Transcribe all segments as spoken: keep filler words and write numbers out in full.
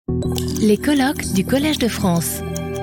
Les colloques du Collège de France.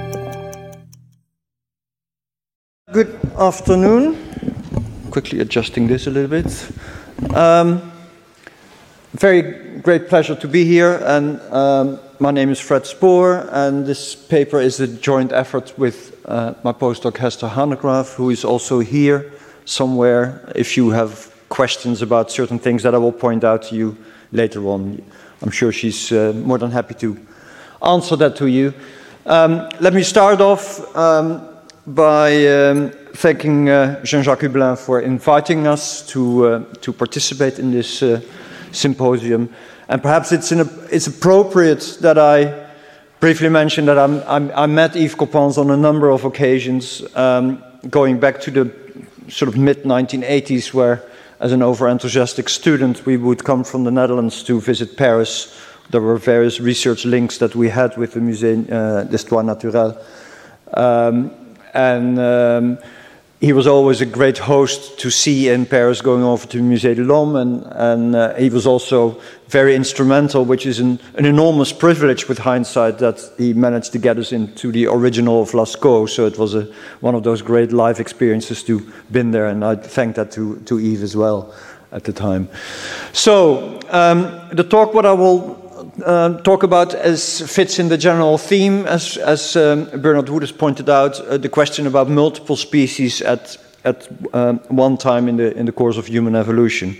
Good afternoon. Quickly adjusting this a little bit. Um, very great pleasure to be here, and um, my name is Fred Spoor, and this paper is a joint effort with uh, my postdoc Hester Hanegraaff, who is also here somewhere. If you have questions about certain things that I will point out to you later on, I'm sure she's uh, more than happy to answer that to you. Um, let me start off um, by um, thanking uh, Jean-Jacques Hublin for inviting us to uh, to participate in this uh, symposium. And perhaps it's in a, it's appropriate that I briefly mention that I'm, I'm, I met Yves Coppens on a number of occasions, um, going back to the sort of mid nineteen eighties, where as an over-enthusiastic student we would come from the Netherlands to visit Paris. There were various research links that we had with the Musée uh, d'Histoire Naturelle. Um, and um, he was always a great host to see in Paris, going over to Musée de l'Homme, and, and uh, he was also very instrumental, which is an, an enormous privilege with hindsight, that he managed to get us into the original of Lascaux. So it was a, one of those great life experiences to been there, and I thank that to, to Yves as well at the time. So um, the talk, what I will Uh, talk about as fits in the general theme, as, as um, Bernard Wood has pointed out, uh, the question about multiple species at, at um, one time in the, in the course of human evolution.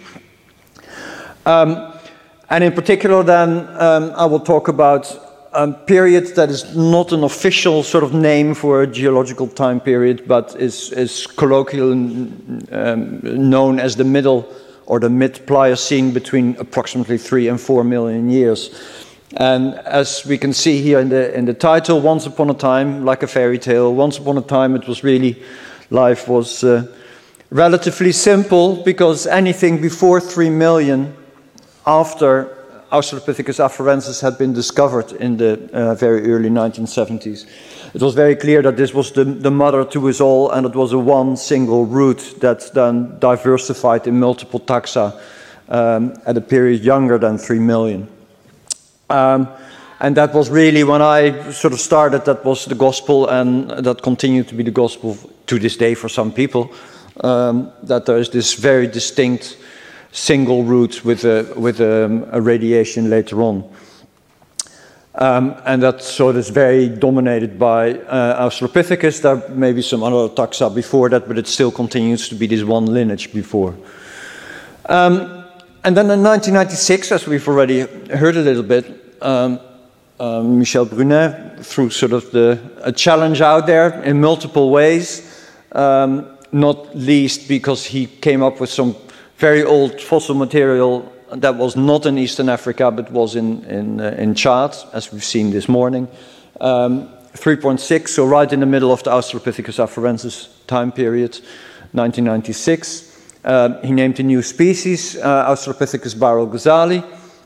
Um, and in particular then, um, I will talk about a period that is not an official sort of name for a geological time period, but is, is colloquially um, known as the middle or the mid-Pliocene, between approximately three and four million years. And as we can see here in the in the title, once upon a time, like a fairy tale, once upon a time it was really, life was uh, relatively simple, because anything before three million, after Australopithecus afarensis had been discovered in the uh, very early nineteen seventies, it was very clear that this was the, the mother to us all, and it was a one single root that then diversified in multiple taxa um, at a period younger than three million. Um, and that was really, when I sort of started, that was the gospel, and that continued to be the gospel to this day for some people, um, that there is this very distinct single root with a, with a, a radiation later on. Um, and that sort of is very dominated by uh, Australopithecus. There may be some other taxa before that, but it still continues to be this one lineage before. Um, and then in nineteen ninety-six, as we've already heard a little bit, um, uh, Michel Brunet threw sort of the, a challenge out there in multiple ways, um, not least because he came up with some very old fossil material that was not in Eastern Africa, but was in, in, uh, in Chad, as we've seen this morning. Um, three point six, so right in the middle of the Australopithecus afarensis time period, nineteen ninety-six. Uh, he named a new species, uh, Australopithecus bahrul-ghazali.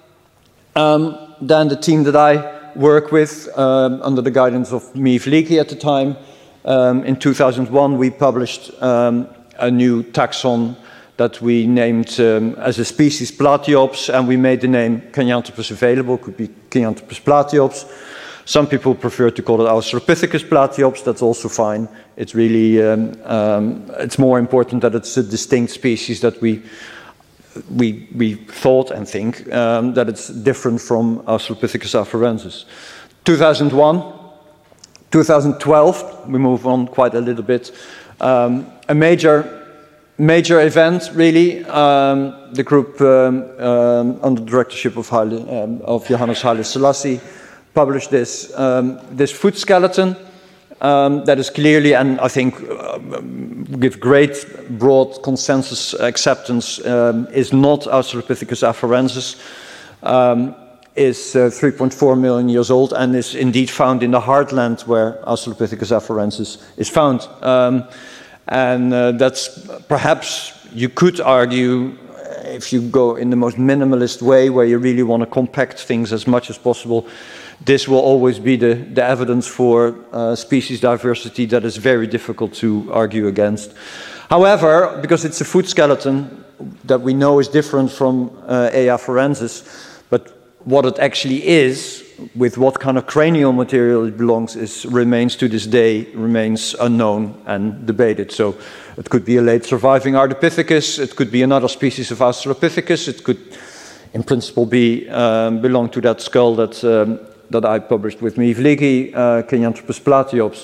Um, then the team that I work with, um, under the guidance of Miv Leakey at the time, um, in two thousand one we published um, a new taxon that we named um, as a species Platyops, and we made the name Kenyanthropus available. It could be Kenyanthropus platyops. Some people prefer to call it Australopithecus platyops. That's also fine. It's really, um, um, it's more important that it's a distinct species, that we we we thought and think um, that it's different from Australopithecus afarensis. two thousand one, two thousand twelve, we move on quite a little bit. Um, a major Major event, really. Um, the group um, um, under the directorship of, Haile, um, of Johannes Haile Selassie published this, um, this foot skeleton um, that is clearly, and I think uh, with great broad consensus acceptance, um, is not Australopithecus afarensis, um, is uh, three point four million years old, and is indeed found in the heartland where Australopithecus afarensis is found. Um, And uh, that's perhaps, you could argue, if you go in the most minimalist way, where you really want to compact things as much as possible, this will always be the, the evidence for uh, species diversity that is very difficult to argue against. However, because it's a foot skeleton that we know is different from uh, A. afarensis, but what it actually is, with what kind of cranial material it belongs, is remains to this day, remains unknown and debated. So it could be a late surviving Ardipithecus, it could be another species of Australopithecus, it could in principle be um, belong to that skull that, um, that I published with Miv Ligi, uh, Kenyanthropus platyops.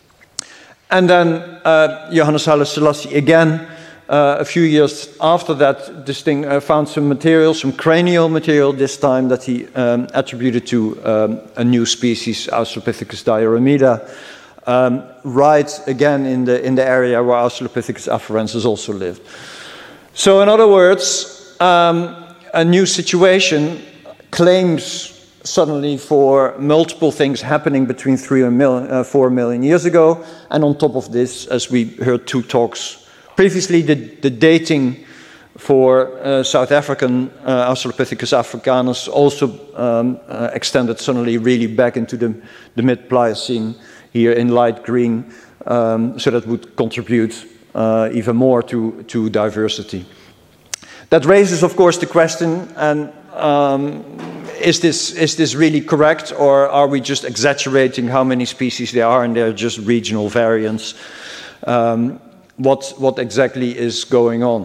And then uh, Johannes Haile Selassie again, Uh, a few years after that, this thing uh, found some material, some cranial material this time, that he um, attributed to um, a new species, Australopithecus diarrhemida, um, right again in the, in the area where Australopithecus afarensis also lived. So in other words, um, a new situation claims suddenly for multiple things happening between three and mil uh, four million years ago, and on top of this, as we heard two talks previously, the, the dating for uh, South African uh, Australopithecus africanus also um, uh, extended suddenly really back into the, the mid-Pliocene here in light green, um, so that would contribute uh, even more to, to diversity. That raises, of course, the question, and um, is this, is this really correct, or are we just exaggerating how many species there are and they're just regional variants? Um, What, what exactly is going on.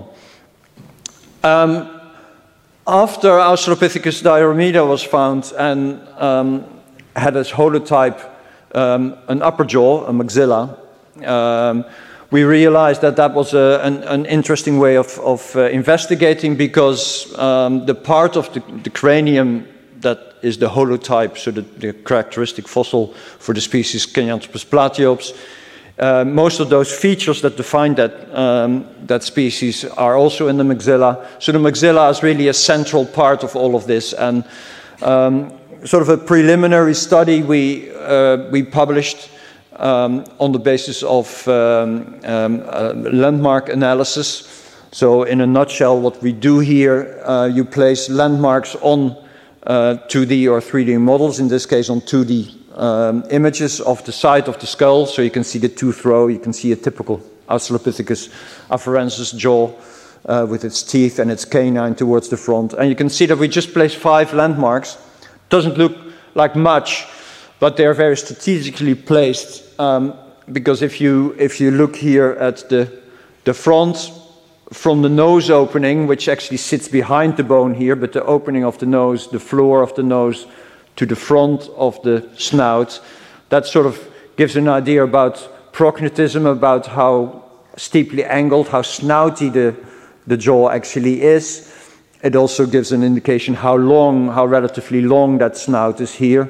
Um, after Australopithecus diarrhemida was found and um, had as holotype um, an upper jaw, a maxilla, um, we realized that that was a, an, an interesting way of, of uh, investigating, because um, the part of the, the cranium that is the holotype, so the, the characteristic fossil for the species Kenyanthropus platyops, Uh, most of those features that define that, um, that species are also in the maxilla. So the maxilla is really a central part of all of this. And um, sort of a preliminary study we, uh, we published um, on the basis of um, um, uh, landmark analysis. So in a nutshell, what we do here, uh, you place landmarks on uh, two D or three D models, in this case on two D Um, images of the side of the skull, so you can see the tooth row, you can see a typical Australopithecus afarensis jaw uh, with its teeth and its canine towards the front. And you can see that we just placed five landmarks. Doesn't look like much, but they're very strategically placed, um, because if you, if you look here at the, the front, from the nose opening, which actually sits behind the bone here, but the opening of the nose, the floor of the nose, to the front of the snout, that sort of gives an idea about prognatism, about how steeply angled, how snouty the, the jaw actually is. It also gives an indication how long, how relatively long that snout is here.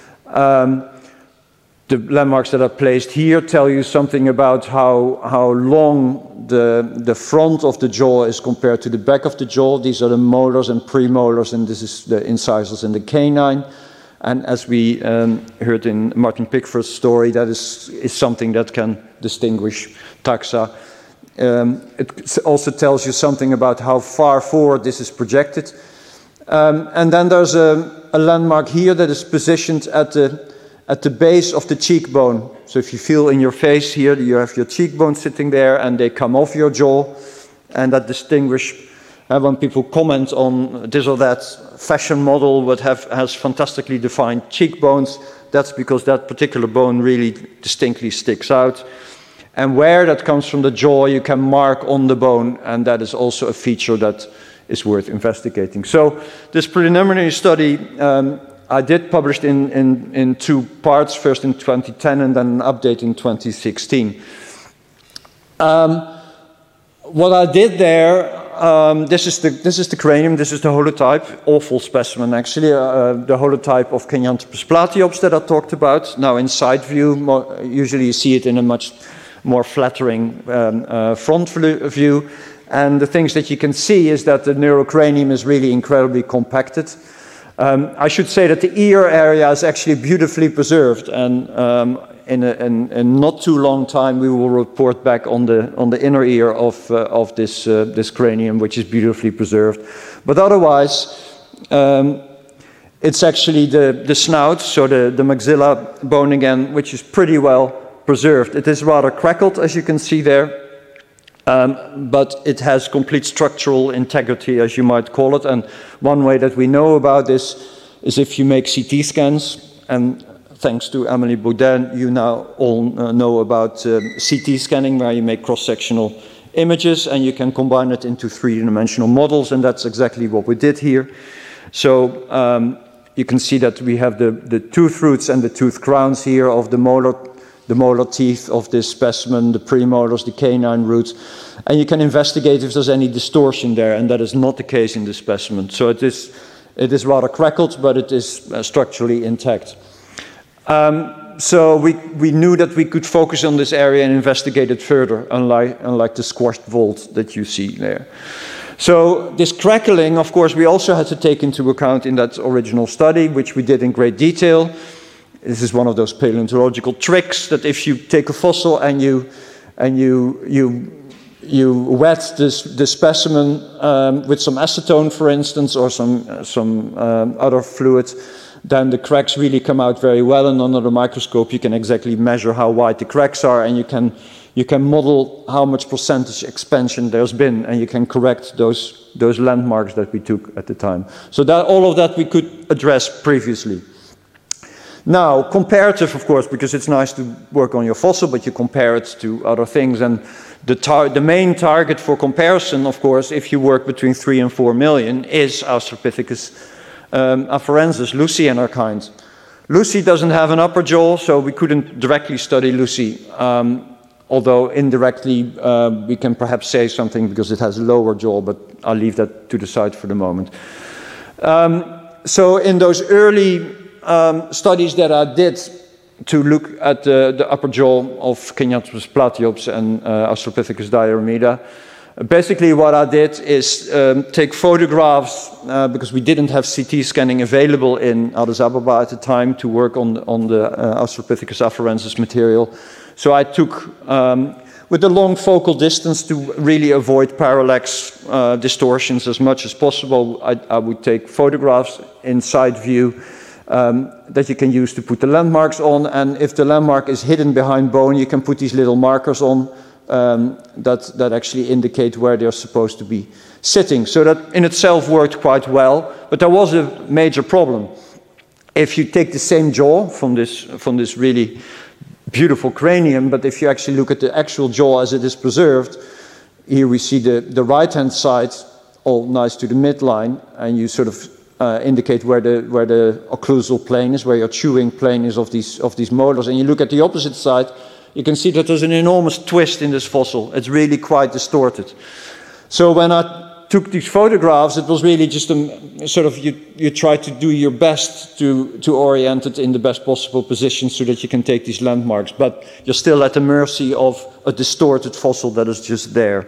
Um, the landmarks that are placed here tell you something about how, how long the, the front of the jaw is compared to the back of the jaw. These are the molars and premolars, and this is the incisors and the canine. And as we um, heard in Martin Pickford's story, that is, is something that can distinguish taxa. Um, it also tells you something about how far forward this is projected. Um, and then there's a, a landmark here that is positioned at the, at the base of the cheekbone. So if you feel in your face here, you have your cheekbone sitting there and they come off your jaw, and that distinguish. Uh, when people comment on this or that fashion model that have, has fantastically defined cheekbones, that's because that particular bone really distinctly sticks out. And where that comes from the jaw, you can mark on the bone, and that is also a feature that is worth investigating. So this preliminary study um, I did published in, in, in two parts, first in twenty ten and then an update in twenty sixteen. Um, what I did there, Um, this, is the, this is the cranium, this is the holotype, awful specimen actually, uh, the holotype of Kenyanthropus platyops that I talked about. Now in side view, more, usually you see it in a much more flattering um, uh, front view. And the things that you can see is that the neurocranium is really incredibly compacted. Um, I should say that the ear area is actually beautifully preserved, and um, in, a, in, in not too long time we will report back on the, on the inner ear of, uh, of this, uh, this cranium, which is beautifully preserved. But otherwise, um, it's actually the, the snout, so the, the maxilla bone again, which is pretty well preserved. It is rather crackled, as you can see there, um, but it has complete structural integrity, as you might call it. And one way that we know about this is if you make C T scans, and thanks to Amélie Baudin, you now all uh, know about uh, C T scanning, where you make cross-sectional images and you can combine it into three-dimensional models, and that's exactly what we did here. So um, you can see that we have the, the tooth roots and the tooth crowns here of the molar, the molar teeth of this specimen, the premolars, the canine roots, and you can investigate if there's any distortion there, and that is not the case in this specimen. So it is, it is rather crackled, but it is uh, structurally intact. Um, so we, we knew that we could focus on this area and investigate it further, unlike, unlike the squashed vault that you see there. So this crackling, of course, we also had to take into account in that original study, which we did in great detail. This is one of those paleontological tricks that if you take a fossil and you, and you, you, you wet this, this specimen um, with some acetone, for instance, or some, uh, some um, other fluid, then the cracks really come out very well, and under the microscope you can exactly measure how wide the cracks are, and you can, you can model how much percentage expansion there's been, and you can correct those, those landmarks that we took at the time. So that, all of that we could address previously. Now, comparative, of course, because it's nice to work on your fossil, but you compare it to other things, and the, tar the main target for comparison, of course, if you work between three and four million, is Australopithecus Um, afarensis, Lucy and her kind. Lucy doesn't have an upper jaw, so we couldn't directly study Lucy, um, although indirectly uh, we can perhaps say something because it has a lower jaw, but I'll leave that to the side for the moment. Um, so in those early um, studies that I did to look at the, the upper jaw of Kenyanthropus platyops and uh, Australopithecus diarrhea, basically what I did is um, take photographs, uh, because we didn't have C T scanning available in Addis Ababa at the time to work on, on the uh, Australopithecus afarensis material. So I took, um, with a long focal distance to really avoid parallax uh, distortions as much as possible, I, I would take photographs in side view um, that you can use to put the landmarks on, and if the landmark is hidden behind bone, you can put these little markers on Um, that, that actually indicate where they're supposed to be sitting. So that in itself worked quite well, but there was a major problem. If you take the same jaw from this, from this really beautiful cranium, but if you actually look at the actual jaw as it is preserved, here we see the, the right-hand side all nice to the midline, and you sort of uh, indicate where the, where the occlusal plane is, where your chewing plane is of these, of these molars, and you look at the opposite side, you can see that there's an enormous twist in this fossil. It's really quite distorted. So when I took these photographs, it was really just a sort of, you, you try to do your best to, to orient it in the best possible position so that you can take these landmarks, but you're still at the mercy of a distorted fossil that is just there.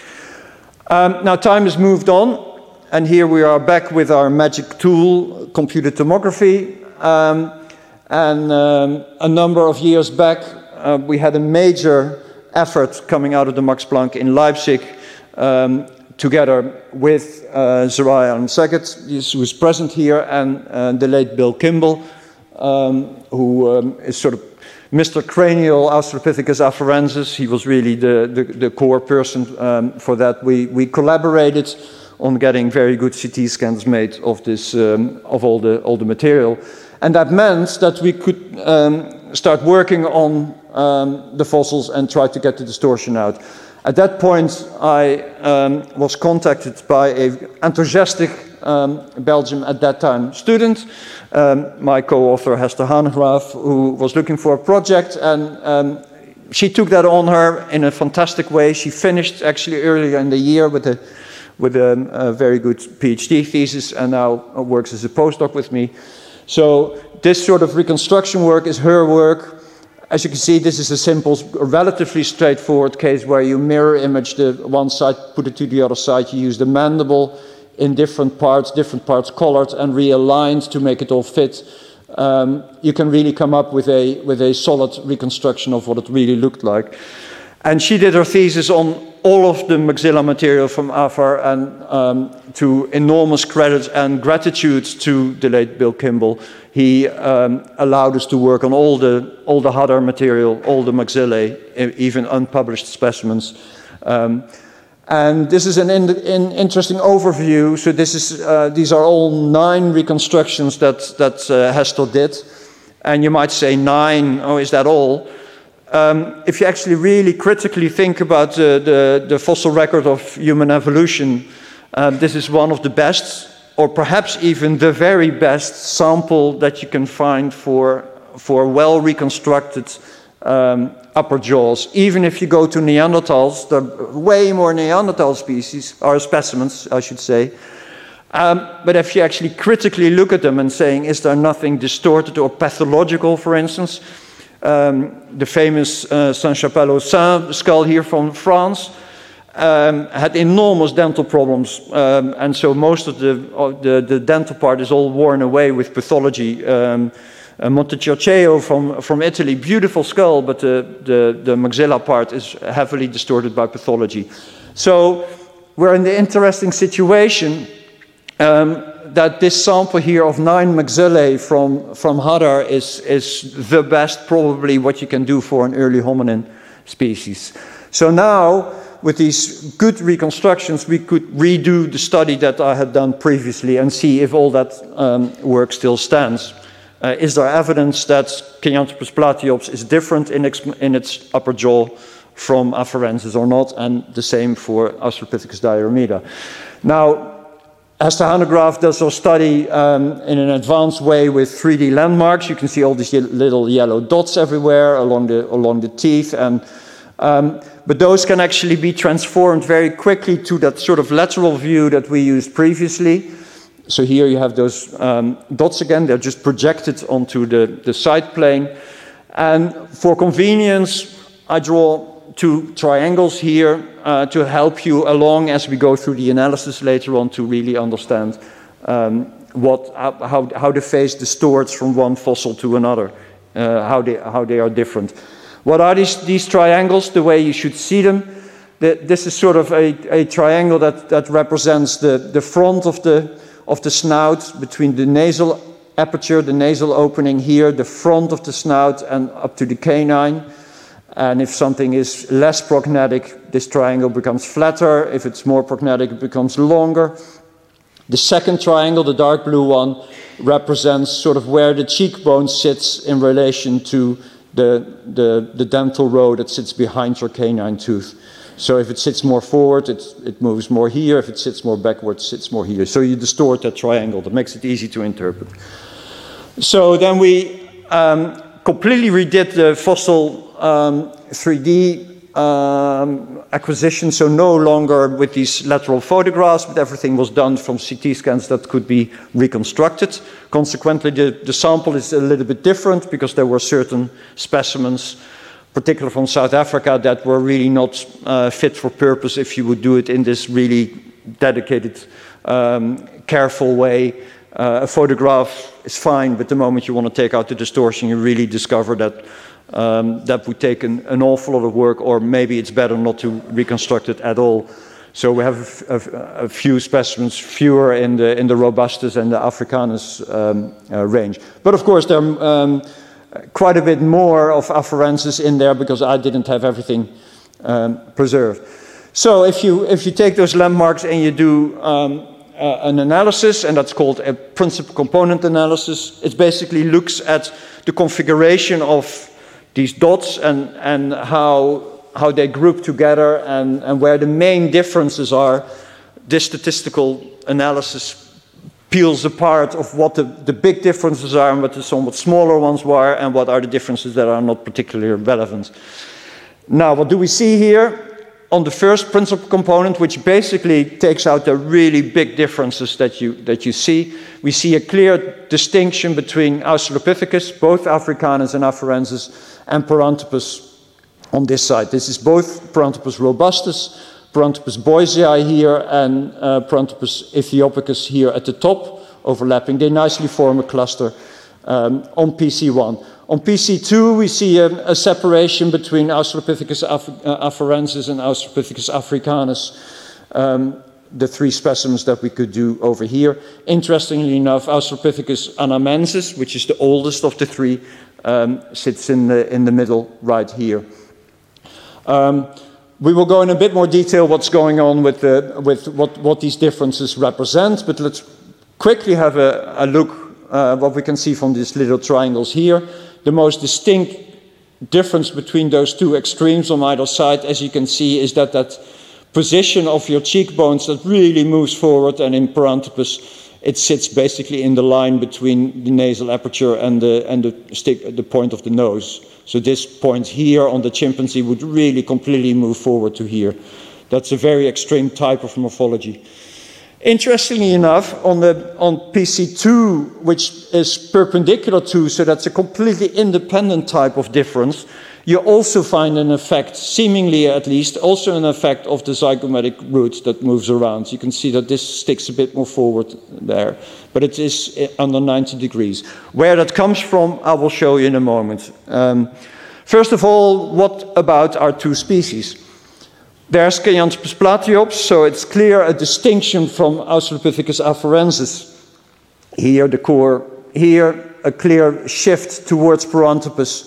Um, now time has moved on, and here we are back with our magic tool, computed tomography, um, and um, a number of years back, Uh, we had a major effort coming out of the Max Planck in Leipzig, um, together with uh, Zerai Alem-Saget, who is present here, and uh, the late Bill Kimball, um, who um, is sort of Mister Cranial Australopithecus afarensis. He was really the, the, the core person um, for that. We, we collaborated on getting very good C T scans made of, this, um, of all, the, all the material. And that meant that we could um, start working on um, the fossils and try to get the distortion out. At that point, I um, was contacted by an enthusiastic um, Belgium, at that time, student, um, my co-author Hester Hanegraaf, who was looking for a project, and um, she took that on her in a fantastic way. She finished actually earlier in the year with a, with a, a very good PhD thesis, and now works as a postdoc with me. So this sort of reconstruction work is her work. As you can see, this is a simple, relatively straightforward case where you mirror image the one side, put it to the other side. You use the mandible in different parts, different parts colored and realigned to make it all fit. Um, you can really come up with a, with a solid reconstruction of what it really looked like. And she did her thesis on all of the maxilla material from Afar, and um, to enormous credit and gratitude to the late Bill Kimball. He um, allowed us to work on all the, all the Hadar material, all the maxillae, even unpublished specimens. Um, And this is an in, in interesting overview. So this is, uh, these are all nine reconstructions that, that uh, Hestel did. And you might say nine, oh, is that all? Um, if you actually really critically think about the, the, the fossil record of human evolution, um, this is one of the best, or perhaps even the very best sample that you can find for, for well-reconstructed um, upper jaws. Even if you go to Neanderthals, there are way more Neanderthal species, or specimens, I should say. Um, but if you actually critically look at them and saying, is there nothing distorted or pathological, for instance? Um, the famous uh, Saint-Chapelle-aux-Saints skull here from France um, had enormous dental problems. Um, and so most of the, of the, the dental part is all worn away with pathology. Um, Uh, Montecirceo from, from Italy, beautiful skull, but the, the, the maxilla part is heavily distorted by pathology. So we're in the interesting situation um, that this sample here of nine maxillae from, from Hadar is, is the best, probably, what you can do for an early hominin species. So now, with these good reconstructions, we could redo the study that I had done previously and see if all that um, work still stands. Uh, is there evidence that Kenyanthropus platyops is different in, in its upper jaw from Afarensis or not, and the same for Australopithecus diarrhea. Now, Hester Hanegraaff does her study um, in an advanced way with three D landmarks. You can see all these little yellow dots everywhere along the, along the teeth, and, um, but those can actually be transformed very quickly to that sort of lateral view that we used previously. So here you have those um, dots again, they're just projected onto the, the side plane. And for convenience, I draw two triangles here uh, to help you along as we go through the analysis later on to really understand um, what, how, how the face distorts from one fossil to another, uh, how, they, how they are different. What are these, these triangles, the way you should see them? The, this is sort of a, a triangle that, that represents the, the front of the of the snout between the nasal aperture, the nasal opening here, the front of the snout and up to the canine. And if something is less prognatic, this triangle becomes flatter. If it's more prognatic, it becomes longer. The second triangle, the dark blue one, represents sort of where the cheekbone sits in relation to the, the, the dental row that sits behind your canine tooth. So if it sits more forward, it, it moves more here. If it sits more backward, it sits more here. So you distort that triangle. That makes it easy to interpret. So then we um, completely redid the fossil um, three D um, acquisition. So no longer with these lateral photographs, but everything was done from C T scans that could be reconstructed. Consequently, the, the sample is a little bit different because there were certain specimens, particularly from South Africa, that were really not uh, fit for purpose if you would do it in this really dedicated, um, careful way. Uh, a photograph is fine, but the moment you want to take out the distortion, you really discover that um, that would take an, an awful lot of work, or maybe it's better not to reconstruct it at all. So we have a, a, a few specimens, fewer in the, in the Robustus and the Africanus um, uh, range. But of course, there are um, quite a bit more of Afarensis in there because I didn't have everything um, preserved. So if you, if you take those landmarks and you do um, uh, an analysis, and that's called a principal component analysis, it basically looks at the configuration of these dots and, and how, how they group together and, and where the main differences are. This statistical analysis peels apart of what the, the big differences are and what the somewhat smaller ones were and what are the differences that are not particularly relevant. Now, what do we see here? On the first principal component, which basically takes out the really big differences that you, that you see, we see a clear distinction between Australopithecus, both Africanus and Afarensis, and Paranthropus on this side. This is both Paranthropus robustus, Paranthropus boisei here, and uh, Paranthropus ethiopicus here at the top, overlapping. They nicely form a cluster um, on P C one. On P C two, we see a, a separation between Australopithecus af uh, afarensis and Australopithecus africanus, um, the three specimens that we could do over here. Interestingly enough, Australopithecus anamensis, which is the oldest of the three, um, sits in the, in the middle right here. Um, we will go in a bit more detail what's going on with, the, with what, what these differences represent, but let's quickly have a, a look uh, what we can see from these little triangles here. The most distinct difference between those two extremes on either side, as you can see, is that that position of your cheekbones that really moves forward, and in Paranthropus it sits basically in the line between the nasal aperture and the, and the, stick, the point of the nose. So this point here on the chimpanzee would really completely move forward to here. That's a very extreme type of morphology. Interestingly enough, on, the, on P C two, which is perpendicular to, so that's a completely independent type of difference, you also find an effect, seemingly at least, also an effect of the zygomatic root that moves around. You can see that this sticks a bit more forward there, but it is under ninety degrees. Where that comes from, I will show you in a moment. Um, first of all, what about our two species? There's Kyanthropus platyops, so it's clear a distinction from Australopithecus afarensis. Here, the core, here, a clear shift towards Paranthropus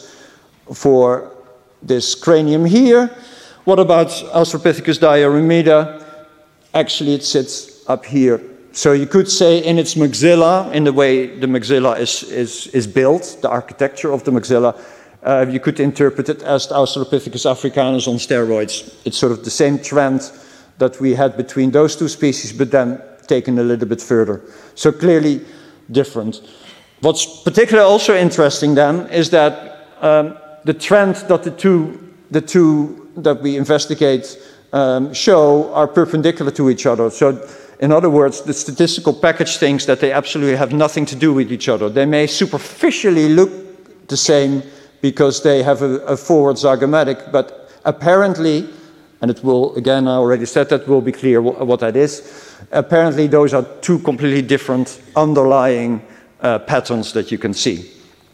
for this cranium here. What about Australopithecus diarrhemida? Actually, it sits up here. So you could say in its maxilla, in the way the maxilla is, is, is built, the architecture of the maxilla, uh, you could interpret it as Australopithecus africanus on steroids. It's sort of the same trend that we had between those two species, but then taken a little bit further. So clearly different. What's particularly also interesting then is that um, the trend that the two, the two that we investigate um, show are perpendicular to each other. So in other words, the statistical package thinks that they absolutely have nothing to do with each other. They may superficially look the same because they have a, a forward zygomatic, but apparently, and it will, again, I already said that, will be clear what, what that is. Apparently those are two completely different underlying uh, patterns that you can see.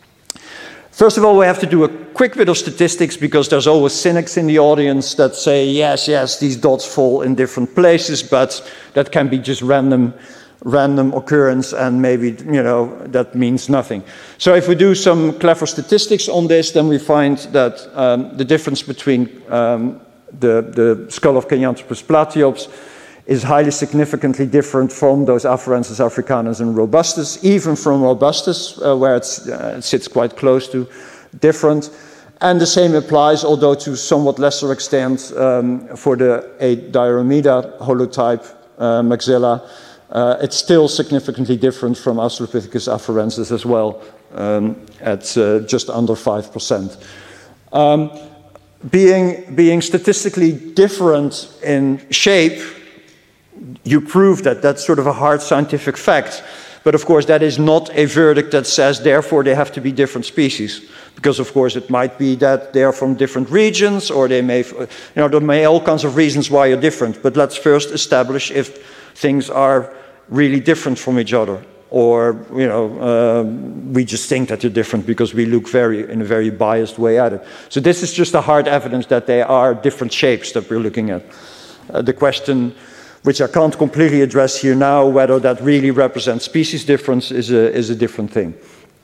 First of all, we have to do a quick bit of statistics because there's always cynics in the audience that say, yes, yes, these dots fall in different places, but that can be just random, random occurrence and maybe, you know, that means nothing. So if we do some clever statistics on this, then we find that um, the difference between um, the, the skull of Kyanthropus platyops is highly significantly different from those Afarensis africanus and robustus, even from robustus, uh, where it's, uh, it sits quite close to different. And the same applies, although to somewhat lesser extent, um, for the A. diarrhemida holotype uh, maxilla. Uh, it's still significantly different from Australopithecus afarensis as well, um, at uh, just under five percent. Um, being, being statistically different in shape, you prove that. That's sort of a hard scientific fact. But of course, that is not a verdict that says, therefore, they have to be different species. Because of course, it might be that they're from different regions, or they may, you know, there may be all kinds of reasons why you're different. But let's first establish if things are really different from each other. Or, you know, uh, we just think that they're different because we look very, in a very biased way at it. So this is just a hard evidence that they are different shapes that we're looking at. Uh, the question, which I can't completely address here now, whether that really represents species difference is a, is a different thing.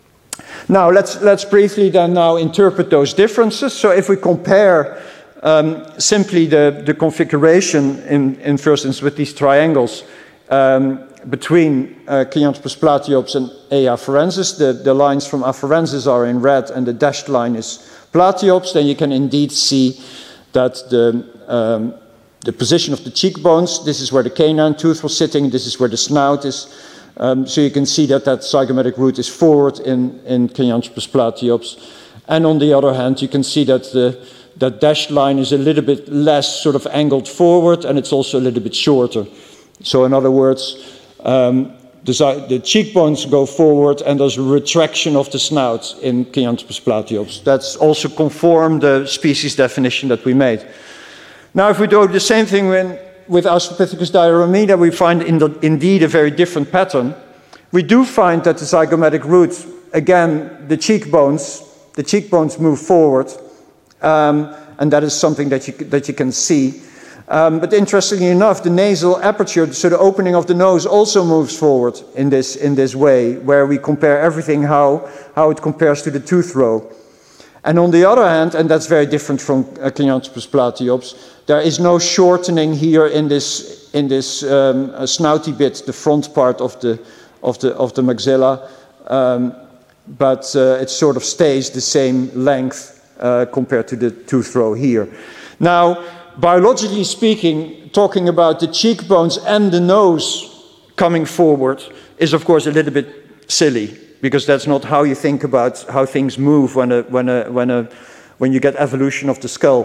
Now, let's, let's briefly then now interpret those differences. So if we compare um, simply the, the configuration in, in first instance with these triangles um, between uh, Kyanthropus platyops and A. afarensis, the, the lines from afarensis are in red and the dashed line is platyops, then you can indeed see that the um, the position of the cheekbones, this is where the canine tooth was sitting, this is where the snout is. Um, so you can see that that zygomatic root is forward in, in Kyanthropus platyops. And on the other hand, you can see that the that dashed line is a little bit less sort of angled forward, and it's also a little bit shorter. So in other words, um, the, the cheekbones go forward and there's a retraction of the snout in Kyanthropus platyops. That's also conform the species definition that we made. Now, if we do the same thing when, with Australopithecus diarrhemida, we find in the, indeed a very different pattern. We do find that the zygomatic root, again, the cheekbones, the cheekbones move forward, um, and that is something that you, that you can see. Um, but interestingly enough, the nasal aperture, so the opening of the nose, also moves forward in this, in this way, where we compare everything, how, how it compares to the tooth row. And on the other hand, and that's very different from uh, Kenyanthropus platyops, there is no shortening here in this in this um, uh, snouty bit, the front part of the of the of the maxilla, um, but uh, it sort of stays the same length uh, compared to the tooth row here. Now, biologically speaking, talking about the cheekbones and the nose coming forward is, of course, a little bit silly, because that's not how you think about how things move when a, when a, when a, when you get evolution of the skull.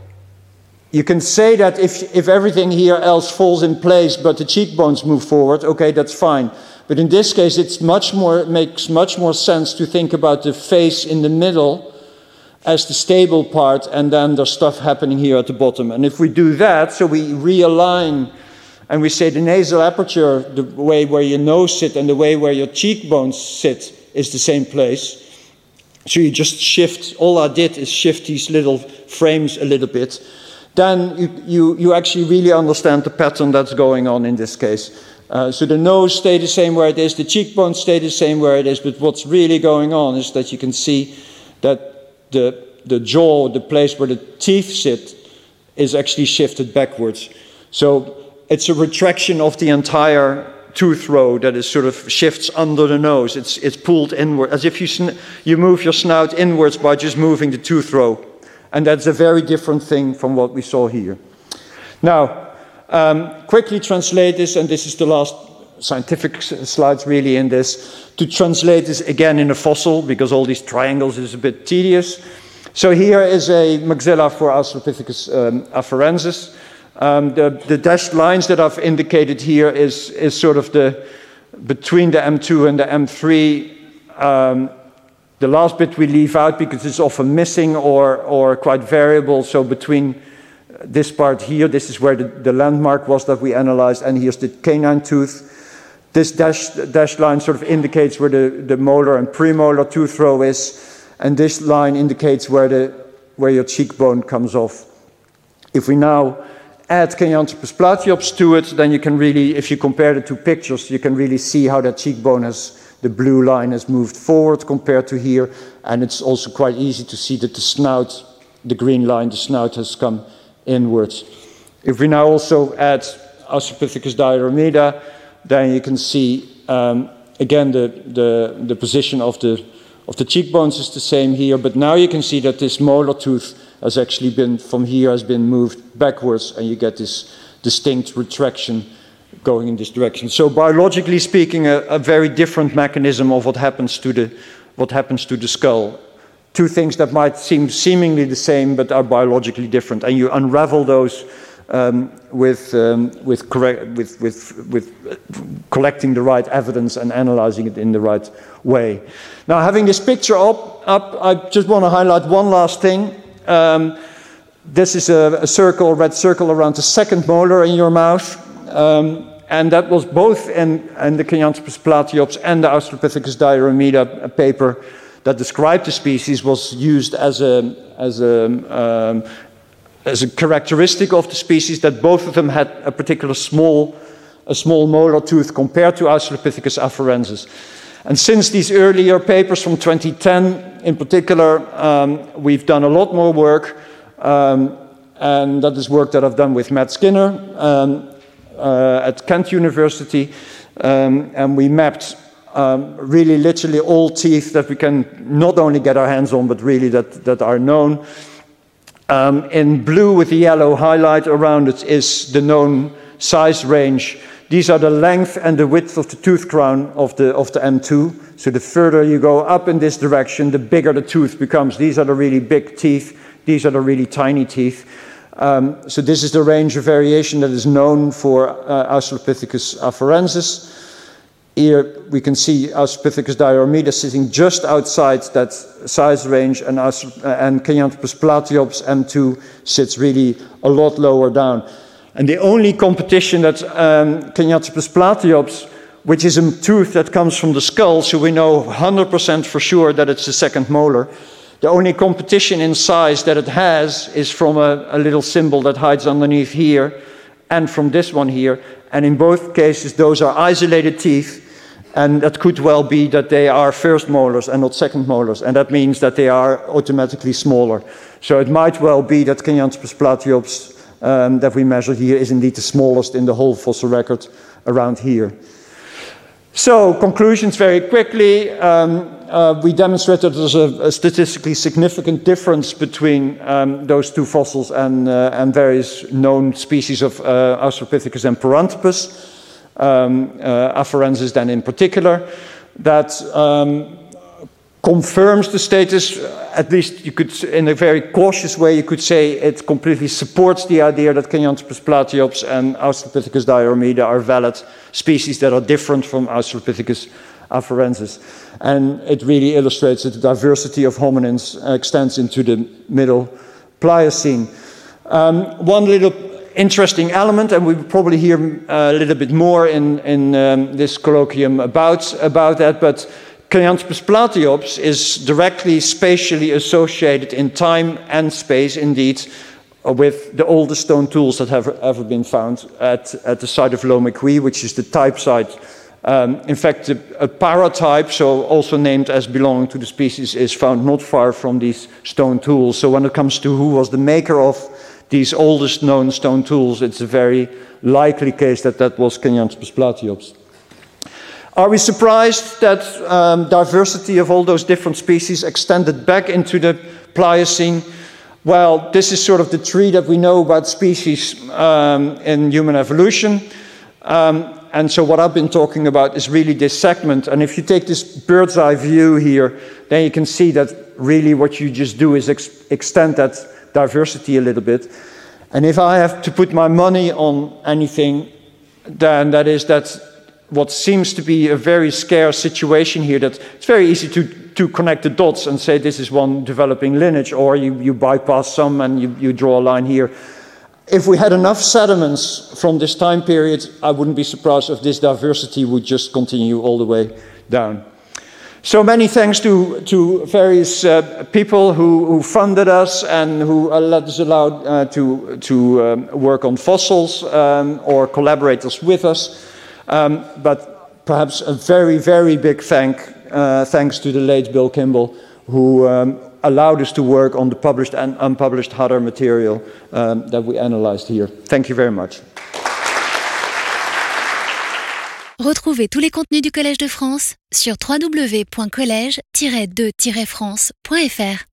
You can say that if, if everything here else falls in place, but the cheekbones move forward, okay, that's fine. But in this case, it's much more, it makes much more sense to think about the face in the middle as the stable part, and then there's stuff happening here at the bottom. And if we do that, so we realign, and we say the nasal aperture, the way where your nose sits and the way where your cheekbones sit is the same place. So you just shift, all I did is shift these little frames a little bit. Then you, you, you actually really understand the pattern that's going on in this case. Uh, so the nose stays the same where it is, the cheekbones stay the same where it is, but what's really going on is that you can see that the, the jaw, the place where the teeth sit, is actually shifted backwards. So it's a retraction of the entire tooth row that is sort of shifts under the nose. It's, it's pulled inward, as if you, sn you move your snout inwards by just moving the tooth row. And that's a very different thing from what we saw here. Now, um, quickly translate this, and this is the last scientific slides really in this, to translate this again in a fossil, because all these triangles is a bit tedious. So here is a maxilla for Australopithecus um, afarensis. Um, the, the dashed lines that I've indicated here is, is sort of the, between the M two and the M three, um, the last bit we leave out because it's often missing or, or quite variable. So between this part here, this is where the, the landmark was that we analyzed, and here's the canine tooth. This dashed, dashed line sort of indicates where the, the molar and premolar tooth row is, and this line indicates where, the, where your cheekbone comes off. If we now add Kenyanthropus platyops to it, then you can really, if you compare the two pictures, you can really see how that cheekbone has, the blue line has moved forward compared to here, and it's also quite easy to see that the snout, the green line, the snout has come inwards. If we now also add Australopithecus diarrhea, then you can see um, again the, the, the position of the, of the cheekbones is the same here, but now you can see that this molar tooth has actually been, from here, has been moved backwards, and you get this distinct retraction going in this direction. So biologically speaking, a, a very different mechanism of what happens to the, what happens to the skull. Two things that might seem seemingly the same, but are biologically different, and you unravel those Um, with, um, with, correct, with, with, with collecting the right evidence and analyzing it in the right way. Now, having this picture up, up I just want to highlight one last thing. Um, this is a, a circle, a red circle around the second molar in your mouth, um, and that was both in, in the Kenyanthropus platyops and the Australopithecus diarrhea paper that described the species, was used as a, as a um, as a characteristic of the species, that both of them had a particular small, a small molar tooth compared to Australopithecus afarensis. And since these earlier papers from twenty ten, in particular, um, we've done a lot more work, um, and that is work that I've done with Matt Skinner um, uh, at Kent University, um, and we mapped um, really literally all teeth that we can not only get our hands on, but really that, that are known. Um, in blue with the yellow highlight around it is the known size range. These are the length and the width of the tooth crown of the, of the M two. So the further you go up in this direction, the bigger the tooth becomes. These are the really big teeth. These are the really tiny teeth. Um, so this is the range of variation that is known for uh, Australopithecus afarensis. Here we can see Australopithecus diarrhea sitting just outside that size range, and, uh, and Kenyanthropus platyops M two sits really a lot lower down. And the only competition that um, Kenyanthropus platyops, which is a tooth that comes from the skull, so we know one hundred percent for sure that it's the second molar, the only competition in size that it has is from a, a little symbol that hides underneath here, and from this one here. And in both cases, those are isolated teeth. And that could well be that they are first molars and not second molars, and that means that they are automatically smaller. So it might well be that Kenyanspes platyops um, that we measured here is indeed the smallest in the whole fossil record around here. So, conclusions very quickly. Um, uh, we demonstrated there's a, a statistically significant difference between um, those two fossils and, uh, and various known species of uh, Australopithecus and Paranthropus. Um, uh, afarensis then in particular, that um, confirms the status, at least you could, in a very cautious way, you could say it completely supports the idea that Kenyanspes platyops and Australopithecus diarrhea are valid species that are different from Australopithecus afarensis. And it really illustrates that the diversity of hominins extends into the middle Pliocene. Um, one little interesting element, and we will probably hear uh, a little bit more in, in um, this colloquium about, about that, but Kenyanspes platyops is directly spatially associated in time and space, indeed, uh, with the oldest stone tools that have ever been found at, at the site of Lomekwi, which is the type site. Um, in fact, a, a paratype, so also named as belonging to the species, is found not far from these stone tools. So when it comes to who was the maker of these oldest known stone tools, it's a very likely case that that was Kenyanspes platyops. Are we surprised that um, diversity of all those different species extended back into the Pliocene? Well, this is sort of the tree that we know about species um, in human evolution. Um, and so what I've been talking about is really this segment. And if you take this bird's eye view here, then you can see that really what you just do is ex extend that diversity a little bit. And if I have to put my money on anything, then that is that what seems to be a very scarce situation here, that it's very easy to, to connect the dots and say this is one developing lineage, or you, you bypass some and you, you draw a line here. If we had enough sediments from this time period, I wouldn't be surprised if this diversity would just continue all the way down. So many thanks to, to various uh, people who, who funded us and who uh, let us allow uh, to, to um, work on fossils um, or collaborators with us. Um, but perhaps a very, very big thank, uh, thanks to the late Bill Kimball, who um, allowed us to work on the published and unpublished Hadar material um, that we analyzed here. Thank you very much. Retrouvez tous les contenus du Collège de France sur w w w point collège tiret de tiret france point f r.